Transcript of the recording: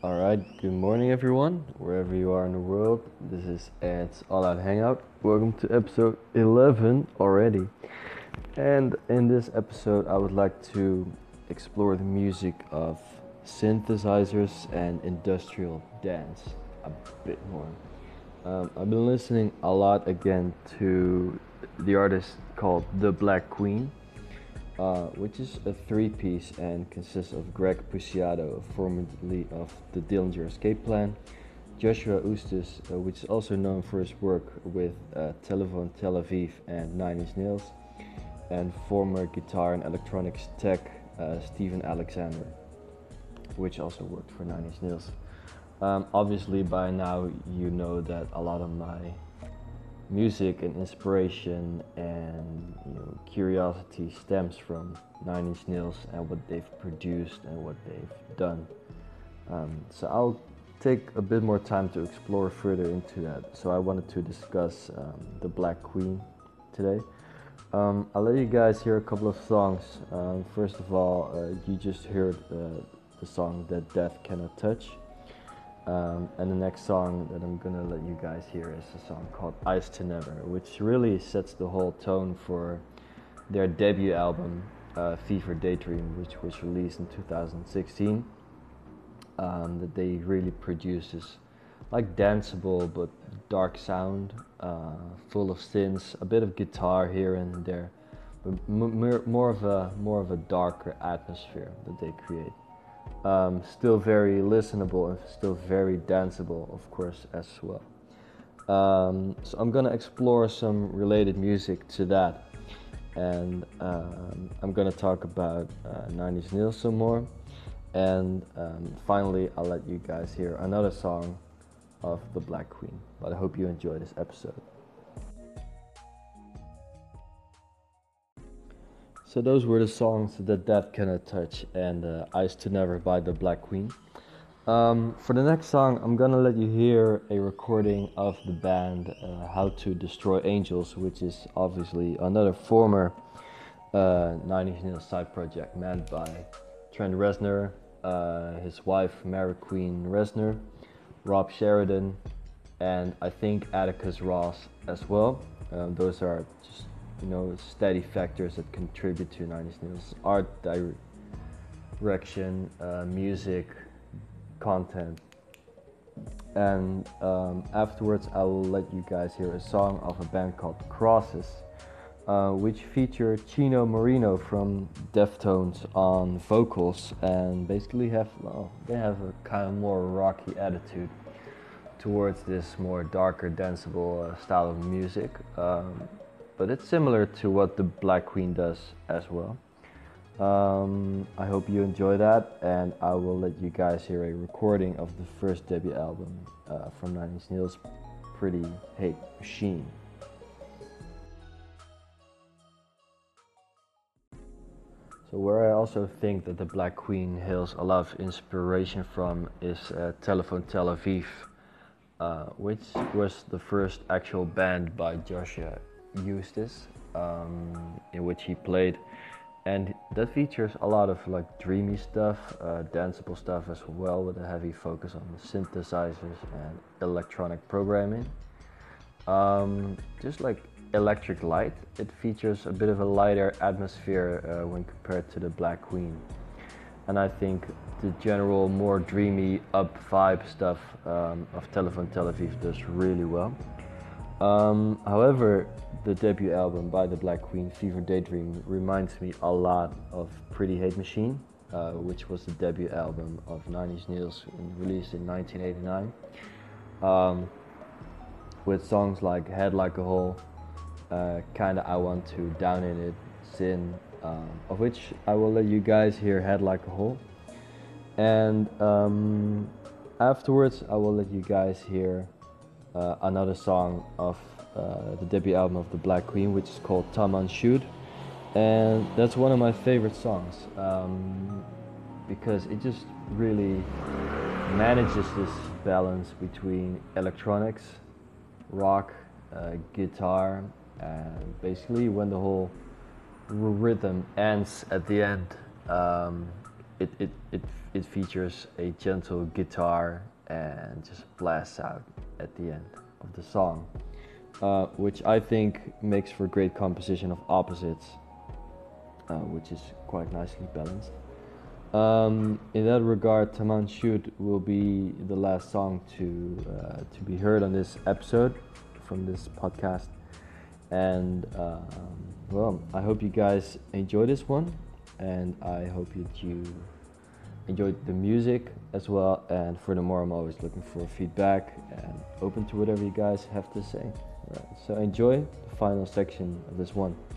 Alright, good morning everyone, wherever you are in the world. This is Ed's All Out Hangout. Welcome to episode 11 already. And in this episode, I would like to explore the music of synthesizers and industrial dance a bit more. I've been listening a lot again to the artist called The Black Queen, which is a three-piece and consists of Greg Puciato, formerly of the Dillinger Escape Plan, Joshua Eustis, which is also known for his work with Telephone Tel Aviv and Nine Inch Nails, and former guitar and electronics tech Steven Alexander, which also worked for Nine Inch Nails. Obviously, by now you know that a lot of my music and inspiration and curiosity stems from Nine Inch Nails and what they've produced and what they've done. So I'll take a bit more time to explore further into that. So I wanted to discuss The Black Queen today. I'll let you guys hear a couple of songs. First of all, you just heard the song That Death Cannot Touch. And the next song that I'm gonna let you guys hear is a song called Eyes to Never, which really sets the whole tone for their debut album, Fever Daydream, which was released in 2016. That they really produced this like danceable but dark sound, full of synths, a bit of guitar here and there, but more of a darker atmosphere that they create. Still very listenable and still very danceable, of course, as well. So I'm gonna explore some related music to that, and I'm gonna talk about Nine Inch Nails some more, and finally I'll let you guys hear another song of The Black Queen. But I hope you enjoy this episode. So those were the songs That Death Cannot Touch and Eyes to Never by The Black Queen. For the next song, I'm gonna let you hear a recording of the band How to Destroy Angels, which is obviously another former Nine Inch Nails side project manned by Trent Reznor, his wife Mary Queen Reznor, Rob Sheridan, and I think Atticus Ross as well. Those are just steady factors that contribute to Nine Inch Nails art direction, music, content. And afterwards I will let you guys hear a song of a band called Crosses, which feature Chino Moreno from Deftones on vocals, and basically they have a kind of more rocky attitude towards this more darker danceable style of music. But it's similar to what The Black Queen does as well. I hope you enjoy that, and I will let you guys hear a recording of the first debut album from Nine Inch Nails, Pretty Hate Machine. So where I also think that The Black Queen hails a lot of inspiration from is Telephone Tel Aviv, which was the first actual band by Joshua Eustis, in which he played, and that features a lot of like dreamy stuff, danceable stuff as well, with a heavy focus on the synthesizers and electronic programming. Just like Electric Light, it features a bit of a lighter atmosphere when compared to The Black Queen, and I think the general more dreamy up vibe stuff of Telephone Tel Aviv does really well. However, the debut album by The Black Queen, Fever Daydream, reminds me a lot of Pretty Hate Machine, which was the debut album of Nine Inch Nails, released in 1989, with songs like Head Like a Hole, Kinda I Want to, Down in It, Sin, of which I will let you guys hear Head Like a Hole, and afterwards I will let you guys hear another song of the debut album of The Black Queen, which is called Taman Shoot, and that's one of my favorite songs, because it just really manages this balance between electronics, rock, guitar, and basically when the whole rhythm ends at the end, it features a gentle guitar and just blasts out at the end of the song, which I think makes for great composition of opposites, which is quite nicely balanced. In that regard, Taman Shoot will be the last song to be heard on this episode from this podcast, and well, I hope you guys enjoy this one, and I hope that you enjoyed the music as well. And furthermore, I'm always looking for feedback and open to whatever you guys have to say. Right, so enjoy the final section of this one.